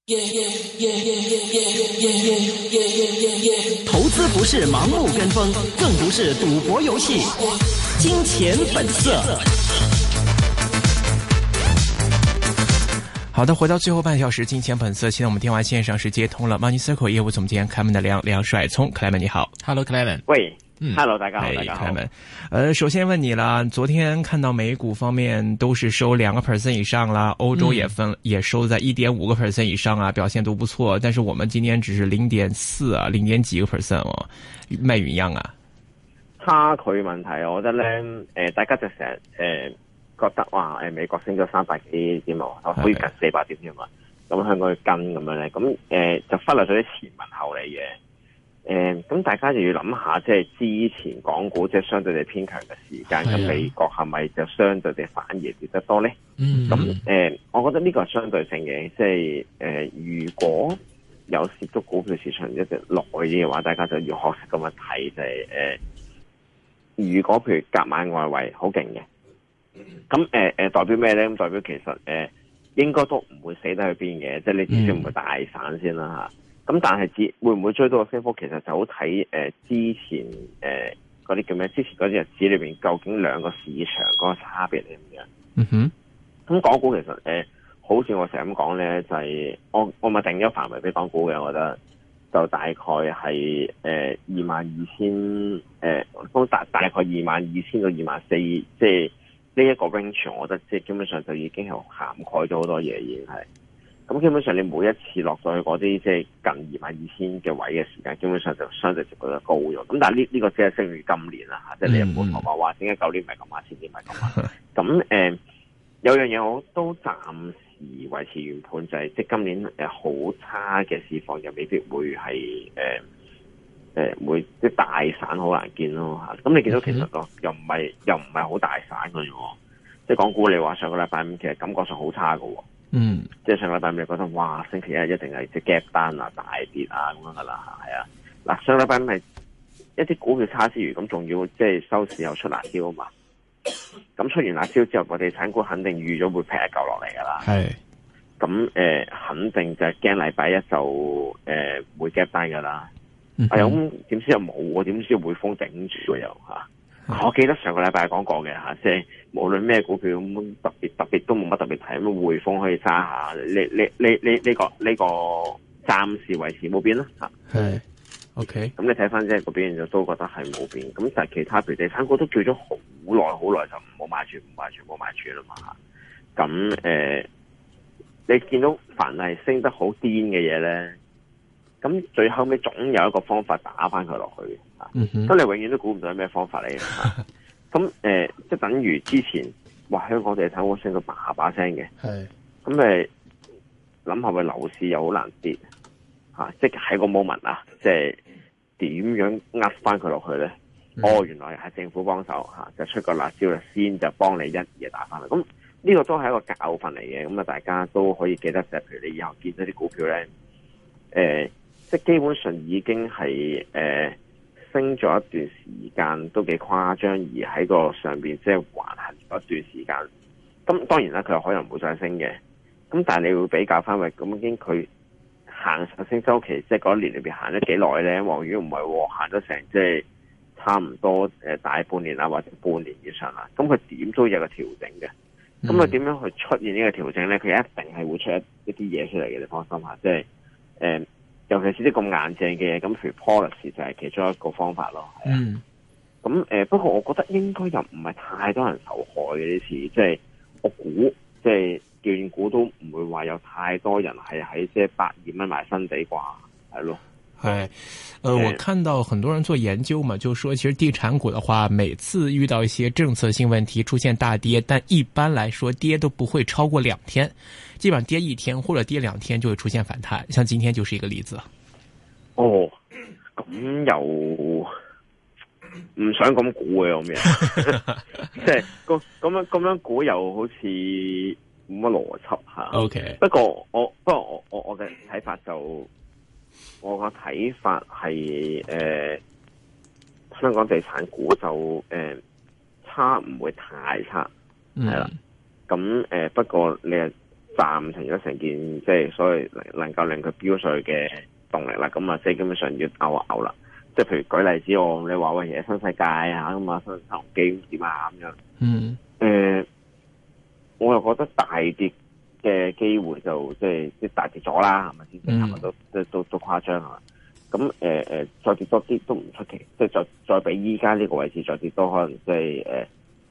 投资不是盲目跟风，更不是赌博游戏。金钱本色。好的，回到最后半小时，金钱本色。现在我们电话线上是接通了 Money Circle 业务总监克莱门的梁帅聪。克莱门你好。 Hello 克莱门。 喂，Hello 大家好，大家好。 克莱门，首先问你了，昨天看到美股方面都是收2% 以上啦，欧洲也收在1.5% 以上啊，表现都不錯，但是我們今天只是0.4啊，0點幾個%哦，咩原因啊？ 差距問題，我覺得咧，大家就成日覺得哇，美國升咗300幾點啊，好接近400點添嘛，咁香港去跟咁樣咧，咁就忽略咗啲前文後理嘅，咁大家就要諗下，即係之前港股即係相對地偏強嘅時間，咁美國係咪就相對地反而跌得多咧？咁我覺得呢個係相對性嘅，即係如果有涉足股票市場一直耐啲嘅話，大家就要學識咁樣睇，就係如果譬如夾買外圍好勁嘅，咁代表咩咧？咁代表其實應該都唔會死得去邊嘅，即係你至少唔會大散先啦嚇。咁但係會唔會追到個升幅？其實就好睇之前嗰啲叫咩？之前嗰啲日子裏邊究竟兩個市場嗰個差別係點樣？ 嗯哼。咁港股其實好似我成日咁講咧，就係我咪定咗範圍俾港股嘅，我覺得就大概係22,000都大概22,000到24,000，即係呢一個 range， 我覺得即係基本上就已經係涵蓋咗好多嘢，已經係。咁基本上你每一次落到去嗰啲即係近22,000嘅位嘅時間，基本上就相對就覺得高咗。咁但係呢個只係適於今年啦嚇，即係你唔好講話點解舊年唔係咁啊，前年唔係咁啊。咁有樣嘢我都暫時維持原判，就係即係今年好差嘅市況又未必會係會即係大散好難見咯嚇。咁你見到其實又唔係好大散嘅喎，即係港股你話上個禮拜五其實感覺上好差嘅喎。即係上個禮拜五你覺得哇星期一一定係即係 gap 單啊大跌啊咁樣噶啦，係啊。嗱上個禮拜五係一啲股票差之餘，咁仲要即係收市又出辣椒啊嘛。咁出完辣椒之後，個地產股肯定預咗會劈一嚿落嚟噶啦。係。咁肯定就係驚禮拜一就會 gap 單噶啦。咁點知又冇喎？點知匯豐頂住喎又嚇？我記得上個禮拜講過嘅嚇，即係無論咩股票咁特別都冇乜特別睇，咁匯豐可以揸下。呢個暫時維持冇變啦嚇。係。OK。咁你睇翻即係個表現就都覺得係冇變。咁但係其他譬如地產股都叫咗好耐就唔好買住啦嘛嚇。咁你見到凡係升得好癲嘅嘢咧，咁最後尾總有一個方法打翻佢落去嘅，咁你永遠都估唔到係咩方法嚟嘅。咁即係等於之前話香港地產股升到把聲嘅，咁諗下個樓市又好難跌嚇，即係喺個 moment 啊，即係點樣呃翻佢落去咧？原來係政府幫手嚇，就出個辣椒啦，先就幫你一嘢打翻嚟。咁呢個都係一個教訓嚟嘅，咁啊大家都可以記得，就係譬如你以後見到啲股票咧，即係基本上已經係升咗一段時間，都幾誇張，而喺個上邊即係橫行咗一段時間。咁當然啦，佢可能唔會再升嘅。咁但係你會比較翻，咁已經佢行上升週期，即係嗰一年裏邊行咗幾耐咧？如果唔係行咗成即係差唔多大半年啦，或者半年以上啦，咁佢點都有個調整嘅。咁佢點樣去出現呢個調整咧？佢一定係會出一啲嘢出嚟嘅，你放心下。即係尤其是啲咁硬淨嘅嘢，咁譬如 policy 就係其中一個方法咯。咁不過我覺得應該又唔係太多人受害嘅呢次，即係我估，即係斷估都唔會話有太多人係喺即係120蚊買新地啩，係咯。 我看到很多人做研究嘛，就說其實地產股的話，每次遇到一些政策性問題出現大跌，但一般來說跌都不會超過2天，基本上跌1天或者跌2天就會出現反彈，像今天就是一個例子。 咁又唔想咁估嘅咁樣，即係咁樣估又好似冇乜邏輯吓。OK， 不過我嘅睇法就。我個睇法係香港地產股就差唔會太差，係啦。咁不過你暫停咗成件即係所謂能夠令佢飆上去嘅動力啦。咁啊，即係基本上要嘔啦。即係譬如舉例子，你話喂，新世界啊咁啊，新鴻基點啊咁樣。我又覺得大跌嘅機會就即係大跌咗啦，係咪先？係咪都誇張啊？咁再跌多啲都唔出奇，即係再比依家呢個位置再跌多可能即係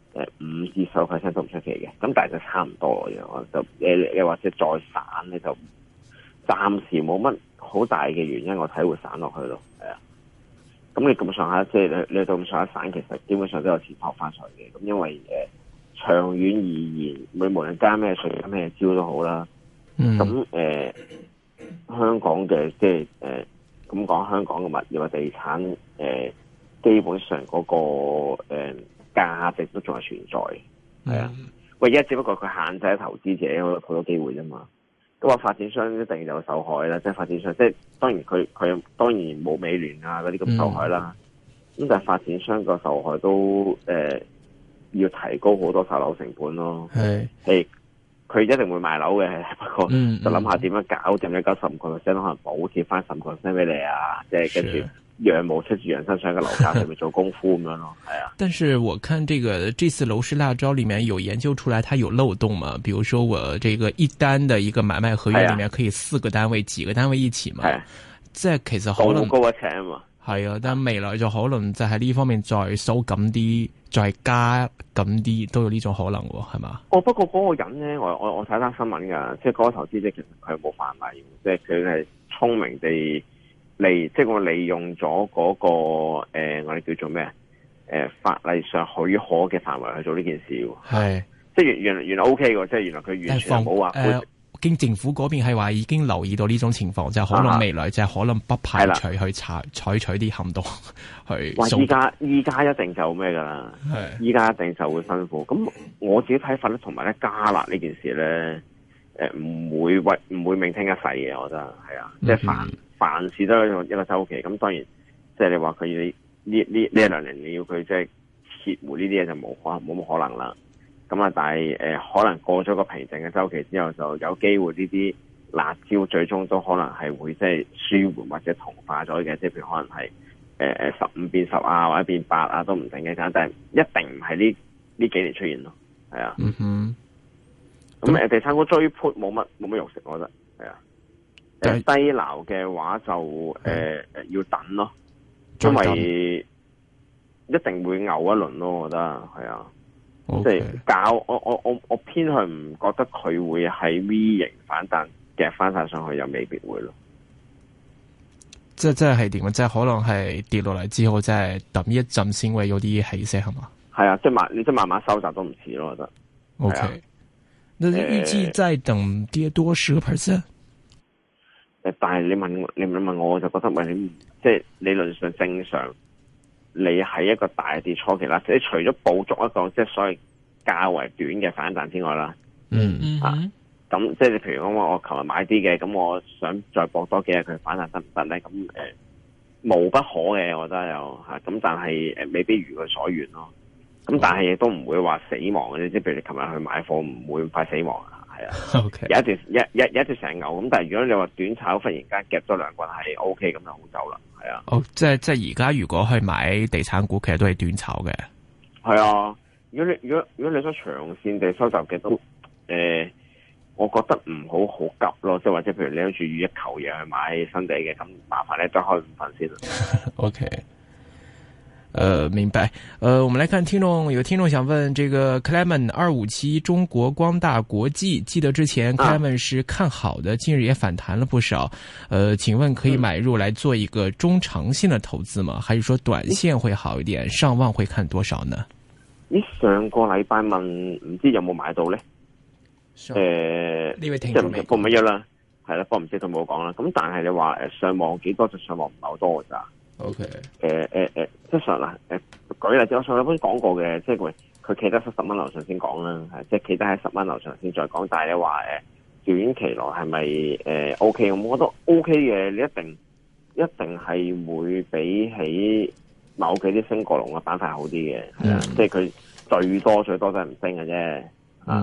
5至10%都唔出奇嘅。咁但係就差唔多嘅，就你或者再散咧，就暫時冇乜好大嘅原因，我睇會散落去咯。係啊，咁你咁上下即係你到咁上下散，其實基本上都有錢撲翻上嘅。咁因為長遠而言，你無論加咩稅加咩招都好啦。咁香港嘅即係咁講，香港嘅物業嘅地產基本上嗰個價值都仲係存在。係啊，唯一只不過佢限制投資者好多機會啫嘛。咁話發展商一定有受害啦，即係發展商即係當然佢當然冇美聯啊嗰啲咁受害啦。咁但係發展商個受害都要提高好多售樓成本咯。係，佢一定會賣樓嘅，不過就諗下點樣搞掂一95%，可能補貼翻15%俾你啊，即係跟住羊毛出自羊身上嘅樓價上面做功夫咁樣咯。係啊。 但是我看這次樓市辣招裏面有研究出來，它有漏洞嘛？比如說我這個一單的一個買賣合約裏面可以4個單位、幾個單位一起嘛？即係其實可能高一尺啊嘛。係啊，但未來就可能就喺呢方面再收緊啲，再加緊啲，都有呢種可能喎，係嘛？ 不過嗰個人咧，我睇單新聞㗎，即係嗰個投資者其實佢冇犯例，即係佢係聰明地即係我利用咗嗰個我哋叫做咩法例上許可嘅範圍去做呢件事喎。係，即係原來 OK 喎，即係原來佢完全冇話。 經政府嗰邊係話已經留意到呢種情況，就可能未來就可能不排除去採取啲行動去。哇！依家一定就咩㗎啦？依家一定就會辛苦。咁我自己睇法咧，同埋咧加辣呢件事咧，唔會命聽一世嘅，我覺得係啊。即係凡事都有一個週期。咁當然，即係你話佢呢1-2年你要佢即係撤回呢啲嘢就冇乜可能啦。咁啊，但係可能過咗個平靜嘅週期之後，就有機會呢啲辣椒最終都可能係會即係舒緩或者同化咗嘅，即係譬如可能係15變10啊，或者變8啊都唔定嘅，但係一定唔係呢幾年出現咯，係啊。咁地產股追潑冇乜肉食，我覺得係啊。低撈嘅話就要等咯，因為一定會牛一輪咯，我覺得係啊。即係我偏向唔覺得佢會喺 V 型反彈夾翻晒上去，又未必會咯。即係點啊？即係可能係跌落嚟之後，即係等一陣先會有啲起色，係嘛？係啊， 你慢慢收集都唔遲咯，我覺得。 OK，那預計再等跌多10%？ 但係你問我，我就覺得你即係理論上正常。你喺一個大跌初期啦，即係除咗捕捉一個即係所謂較為短嘅反彈之外啦，咁即係你譬如講我琴日買啲嘅，咁我想再搏多幾日佢反彈得唔得咧？咁無不可嘅，我覺得有嚇，咁但係未必如佢所願咯。咁但係亦都唔會話死亡嘅，即係譬如你琴日去買貨唔會咁快死亡啊。係啊，okay. 有一段成牛咁，但係如果你話短炒忽然間夾咗兩棍係 O K 咁就好走啦，係啊。即係而家如果去買地產股，其實都係短炒嘅。係啊，如果你想長線地收集嘅都我覺得唔好急咯，即係或者譬如你諗住預一球嘢去買新地嘅，咁麻煩你再開5份先啦。O K。明白。我們來看有聽眾想問，這個 Clement 257中國光大國際，記得之前 Clement 是看好的，近日也反彈了不少。請問可以買入來做一個中長線的投資嗎？還是說短線會好一點？上望會看多少呢？你上個禮拜問唔知有冇買到呢？呢位聽眾報乜嘢啦？係啦，不過唔知佢冇講啦。咁但係你話上望幾多就上望唔係好多㗎咋。OK，即係上啦，舉例子，我上一本講過嘅，即係佢企得10蚊樓上先講啦，係即係企得喺10蚊樓上先再講。但係你話短期內係咪OK？我覺得 OK 嘅，你一定係會比起某幾啲升過龍嘅板塊好啲嘅，係啊，即係佢最多都係唔升嘅啫，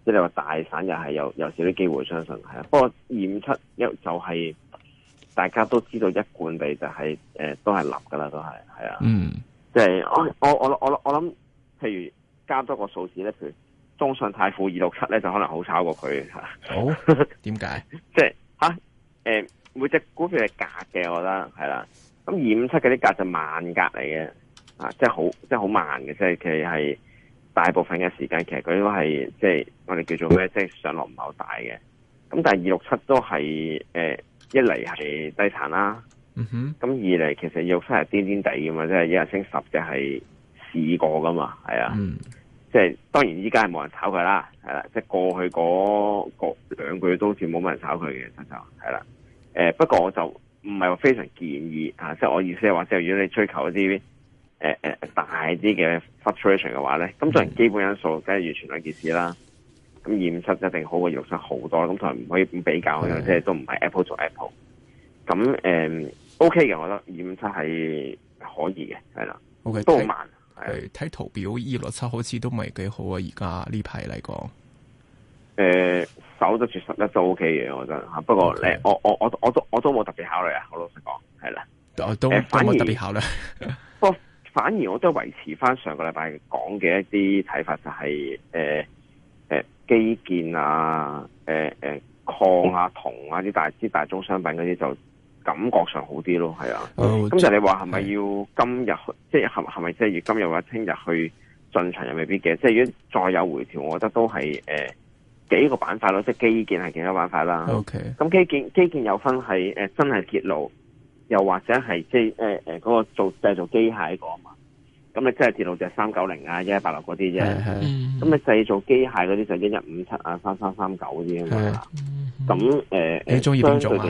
即係你話大散又係有少啲機會，相信係啊。不過257就係大家都知道一貫地就係、都係立噶啦，都係啊。即係我諗，譬如加多個數字咧，譬如中信泰富267咧，就可能好炒過佢嚇。 好，點解？ 即係每隻股票係格嘅，我覺得係啦。咁257嗰啲格就慢格嚟嘅，即係好慢嘅，即係其實係大部分嘅時間，其實佢都係即係我哋叫做咩，即係上落唔係好大嘅。咁但係267都係一嚟係低殘啦，咁二嚟其實267係癲癲地㗎嘛，即係一日升10隻係試過噶嘛，係啊，即係當然依家係冇人炒佢啦，係啦，即係過去嗰2個月都好似冇乜人炒佢嘅，就係啦。不過我就唔係話非常建議啊，即係我意思係話，即係如果你追求一啲大啲嘅 fluctuation 嘅話咧，咁當然基本因素梗係完全兩件事啦。咁257一定好過267好多，咁同埋唔可以咁比較嘅，即係都唔係 Apple 做 Apple。咁OK 嘅，我覺得257係可以嘅，係啦。OK， 都好慢。 係睇圖表267好似都唔係幾好啊，而家呢排嚟講。守得住11都 OK 嘅，我覺得嚇。不過我都冇特別考慮啊，我老實講係啦。 都冇特別考慮。 不過反而我都維持翻上個禮拜講嘅一啲睇法，就係基建啊、礦啊、銅啊啲大宗商品嗰啲就感覺上好啲咯，係啊。咁就你話係咪要今日即係係咪即係要今日或者聽日去進場又未必嘅？即係如果再有回調，我覺得都係幾個板塊咯，即係基建係幾個板塊啦。 OK， 咁基建有分係真係鐵路，又或者係即係嗰個製造機械嗰個嘛。咁你真係鐵路就係390啊、1186嗰啲啫。咁你製造機械嗰啲就1157啊、3339嗰啲啊嘛。咁你中意邊種啊？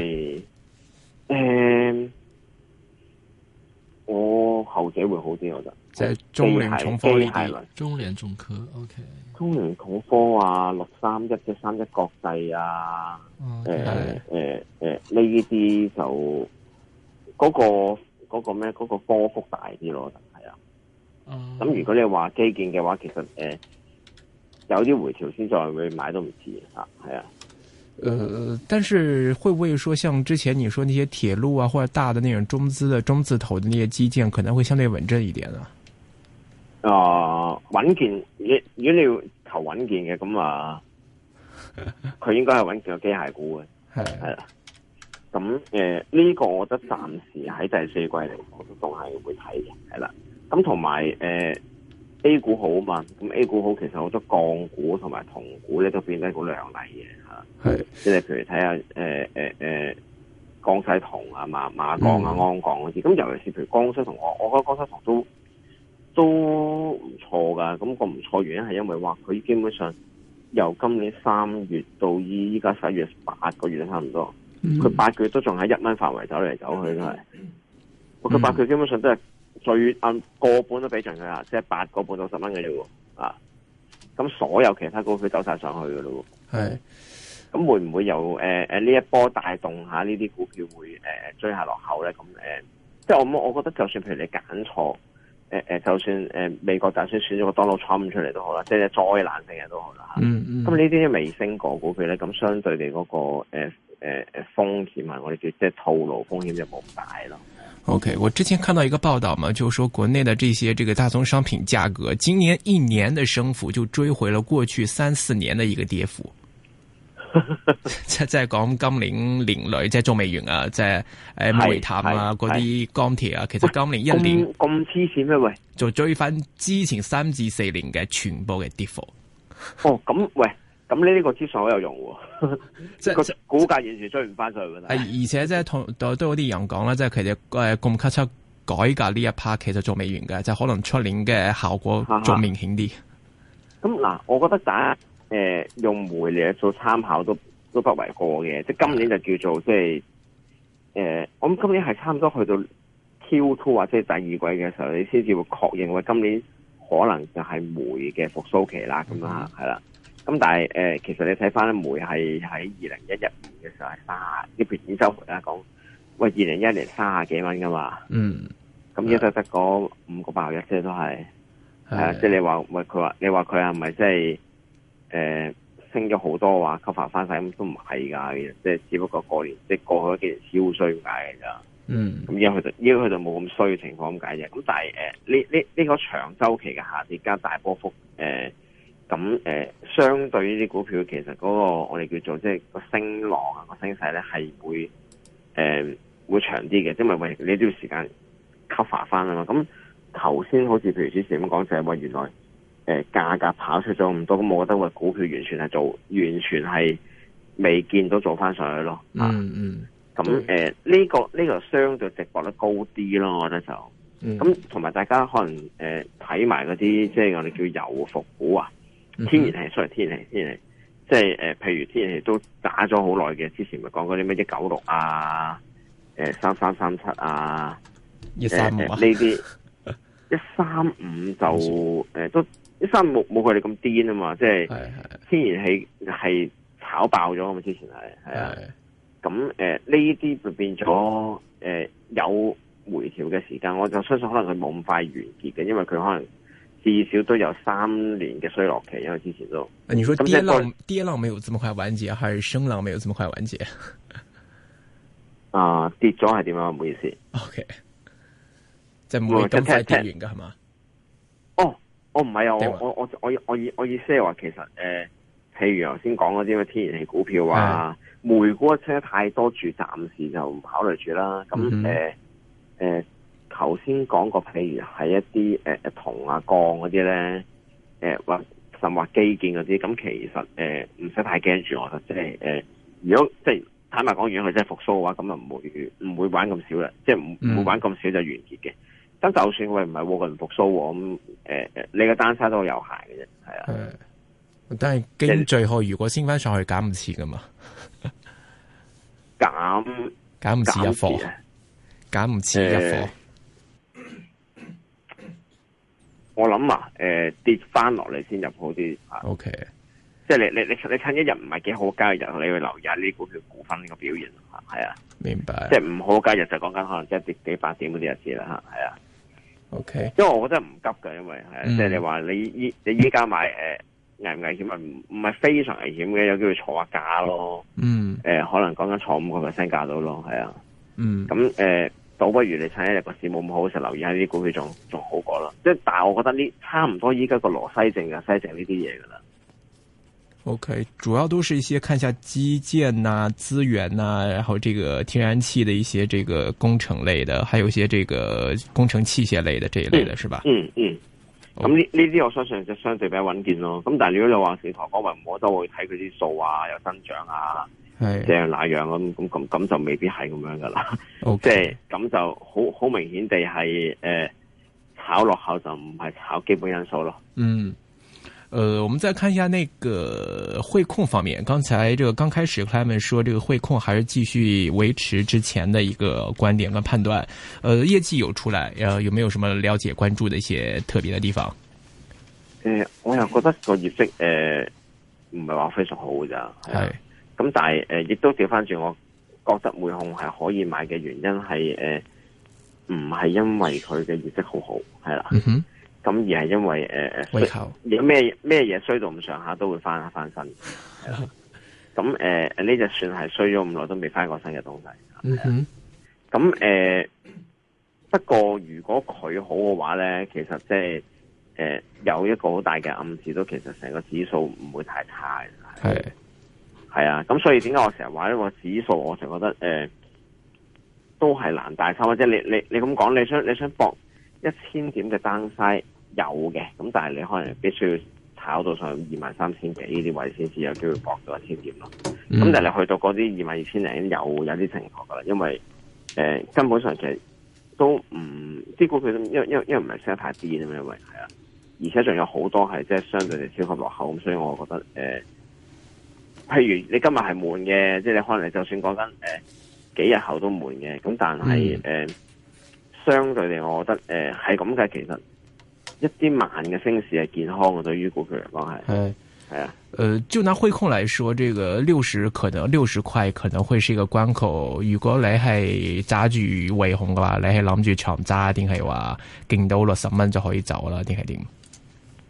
我後者會好啲，我覺得。 即係中聯重科呢啲。 中聯重科 OK。 中聯重科啊，631即31國際啊，呢啲就嗰個咩？嗰個波幅大啲咯，係啊。咁如果你話基建嘅話，其實有啲回調先再會買都唔遲啊，係啊。 但是會不會說，像之前你說那些鐵路啊，或者大的那種中字頭的那些基建，可能會相對穩陣一點啊？ 穩健，如果你要求穩健嘅，咁啊，佢應該係穩健嘅機械股嘅，係啦。咁呢個我覺得暫時喺第四季嚟講都係會睇嘅，係啦。咁同埋A 股好嘛，咁 A 股好，其實好多鋼股同埋銅股咧都變得好亮麗嘅嚇。係，即係譬如睇下江西銅啊、馬鋼啊、鞍鋼嗰啲，咁尤其是譬如江西銅，我覺得江西銅都唔錯噶。咁個唔錯原因係因為話佢基本上由今年3月到依家11月8個月差唔多，佢8個月都仲喺1蚊範圍走嚟走去都係。佢8個月基本上都係最個半都俾盡佢啦，即係8個半到10蚊嘅啫喎。啊，咁所有其他股票走晒上去嘅咯喎。係。咁會唔會有呢一波帶動下呢啲股票會追下落後咧？咁即係我覺得就算譬如你揀錯就算美國就算選咗個 Donald Trump 出嚟都好啦，即係災難性嘅都好啦。咁呢啲未升過股票咧，咁相對地嗰個風險啊，我哋叫即係套路風險就冇咁大咯。 OK， 我之前看到一個報道嘛，就是說國內的這些大宗商品價格，今年1年的升幅就追回了過去3-4年的一個跌幅。即係講今年年內即係仲未完啊，即係煤炭啊嗰啲鋼鐵啊，其實今年1年咁黐線咩？喂， 就追翻之前3至4年嘅全部嘅跌幅。 哦，咁喂，咁呢個資訊好有用喎，即係股價完全追唔翻上去。 而且即係都有啲人講啦，即係其實咁級出改革呢一 part 其實仲未完嘅，即係可能出年嘅效果仲明顯啲。 咁嗱，我覺得大家用煤嚟做參考都不為過嘅，即係今年就叫做即係我諗今年係差唔多去到 Q2 或者第二季嘅時候，你先至會確認話今年可能就係煤嘅復甦期啦，咁啊係啦。咁但係其實你睇翻咧，煤係喺2011年嘅時候係啲譬如週末啦講，喂2011年30幾蚊噶嘛，咁而家得嗰5個8個1啫，都係即係你話喂佢話你話佢係咪即係升咗好多話 cover 翻晒，咁都唔係噶，即係只不過過年即係過去幾年超衰咁解嘅咋。咁而家佢就冇咁衰嘅情況咁解啫。咁但係呢個長周期嘅下跌加大波幅相對呢啲股票，其實嗰個我哋叫做即係個升浪啊，個升勢咧係會長啲嘅，因為你都要時間 cover 翻啊嘛。咁頭先好似譬如之前咁講，就係話原來價格跑出咗咁多，咁我覺得個股票完全係未見到做翻上去咯。咁呢個相對值博率高啲咯，我覺得就咁。同埋大家可能睇埋嗰啲即係我哋叫油服股啊，天然氣，天然氣，即係譬如天然氣都打咗好耐嘅，之前咪講嗰啲咩196啊，3337啊 ，135 呢啲135就都135冇佢哋咁癲啊嘛，即係天然氣係炒爆咗啊嘛，之前係啊。咁呢啲就變咗有回調嘅時間，我就相信可能佢冇咁快完結嘅，因為佢可能至少都有3年嘅衰落期，因為之前都。 你說跌浪沒有這麼快完結，還是升浪沒有這麼快完結？ 跌咗係點樣？唔好意思。 OK，即係唔會咁快跌完㗎係嘛？ 我唔係啊，我意思係話其實譬如頭先講嗰啲咩天然氣股票啊。煤股升得太多住，暫時就唔考慮住啦。咁頭先講過，譬如係一啲銅啊、鋼嗰啲咧，或甚或基建嗰啲，咁其實唔使太驚住，我覺得即係如果即係坦白講，如果佢真係復甦嘅話，咁就唔會玩咁少啦，即係唔會玩咁少就完結嘅。咁就算佢唔係佢唔復甦喎，咁你個單差都有限嘅啫，係啊。 但係經最後如果升翻上去減唔切噶嘛？減唔切一貨，減唔切一貨。 我諗跌翻落嚟先入好啲。 OK， 即係你趁一日唔係幾好交易日，你去留意下呢啲股票股份呢個表現。係啊， 明白。 即係唔好交易日就講緊可能即係跌幾百點嗰啲日子啦。係啊。 OK， 因為我覺得唔急㗎，因為係即係你話你依家買危唔危險啊？唔係非常危險嘅，有機會坐下價咯。可能講緊坐5%價到咯，係啊。咁倒不如你趁一日個市冇咁好嘅時候，留意下呢啲股票仲好過啦。即係，但係我覺得呢差唔多依家個羅西證啊、西證呢啲嘢噶啦。 OK，主要都是一些看一下基建啊、資源啊，然後這個天然氣的一些這個工程類的，還有一些這個工程器械類的這一類的，是吧？咁呢啲我相信就相對比較穩健咯。咁但係如果你話市場方面，我都會睇佢啲數啊，有增長啊，即係那樣咁就未必係咁樣噶啦。即係咁就好明顯地係炒落後就唔係炒基本因素咯。我們再看一下那個匯控方面，剛才這個剛開始他們說這個匯控還是繼續維持之前的一個觀點跟判斷。業績有出來，有沒有什麼了解關注的一些特別的地方？ 我又覺得個業績唔係話非常好㗎咋。係。咁但係亦都調翻轉，我覺得匯控係可以買嘅原因係唔係因為佢嘅業績好好，係啦。咁而係因為有咩嘢衰到咁上下都會翻身，係啦。咁呢隻算係衰咗咁耐都未翻過身嘅東西。咁不過如果佢好嘅話咧，其實即係有一個好大嘅暗示，都其實成個指數唔會太差嘅。係啊，咁所以點解我成日話呢個指數，我成日覺得都係難大抽，即係你咁講，你想搏1000點嘅 downside 有嘅，咁但係你可能必須要炒到上23,000幾呢啲位先至有機會搏到1000點咯。咁但係你去到嗰啲22,000零有啲情況噶啦，因為根本上其實都唔啲股票因為唔係升得太癲啊嘛，因為係啊，而且仲有好多係即係相對地超級落後，咁所以我覺得譬如你今日係悶嘅，即係你可能你就算講緊幾日後都悶嘅，咁但係相對地，我覺得係咁嘅。其實一啲慢嘅升市係健康嘅，對於股票嚟講係啊。 就拿匯控來說，這個60塊可能會是一個關口。如果你係揸住匯控嘅話，你係諗住長揸定係話勁到60蚊就可以走啦，定係點？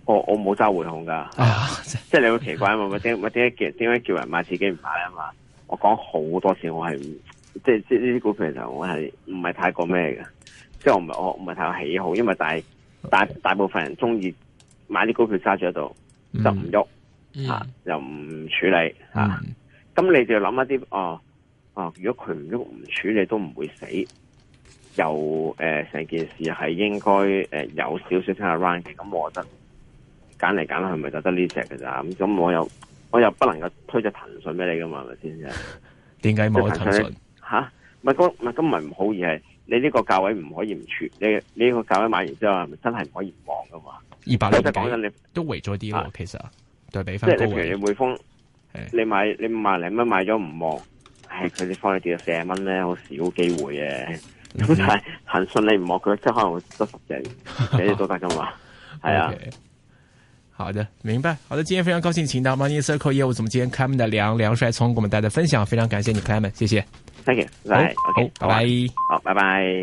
我冇揸匯控噶，即係你好奇怪嘛？點解叫人買自己唔買啊嘛？我講好多次，我係即係呢啲股票其實我係唔係太過咩嘅，即係我唔係太過喜好，因為大部分人中意買啲股票揸住喺度就唔喐又唔處理咁你就諗一啲如果佢唔喐唔處理都唔會死，又成件事係應該有少少 turnaround 嘅，咁我覺得揀嚟揀去咪就得呢隻嘅咋，咁我又不能夠推隻騰訊俾你噶嘛，係咪先啫？點解冇騰訊？咪咁咪唔好，而係你呢個價位唔可以唔處，你呢個價位買完之後，係咪真係唔可以唔望噶嘛？200幾講緊你都圍咗啲咯，其實對比翻高位。即係你譬如你匯豐，你萬零蚊買咗唔望，佢哋放你跌到40蚊咧，好少機會嘅。咁但係騰訊你唔望佢，即係可能會得10隻，幾隻都得噶嘛？係啊。好的，明白。好的，今天非常高興請到 Money Circle 業務總監 Clement 的梁帥聰給我們帶來分享，非常感謝你 Clement，謝謝。Thank you，好，拜拜。好，拜拜。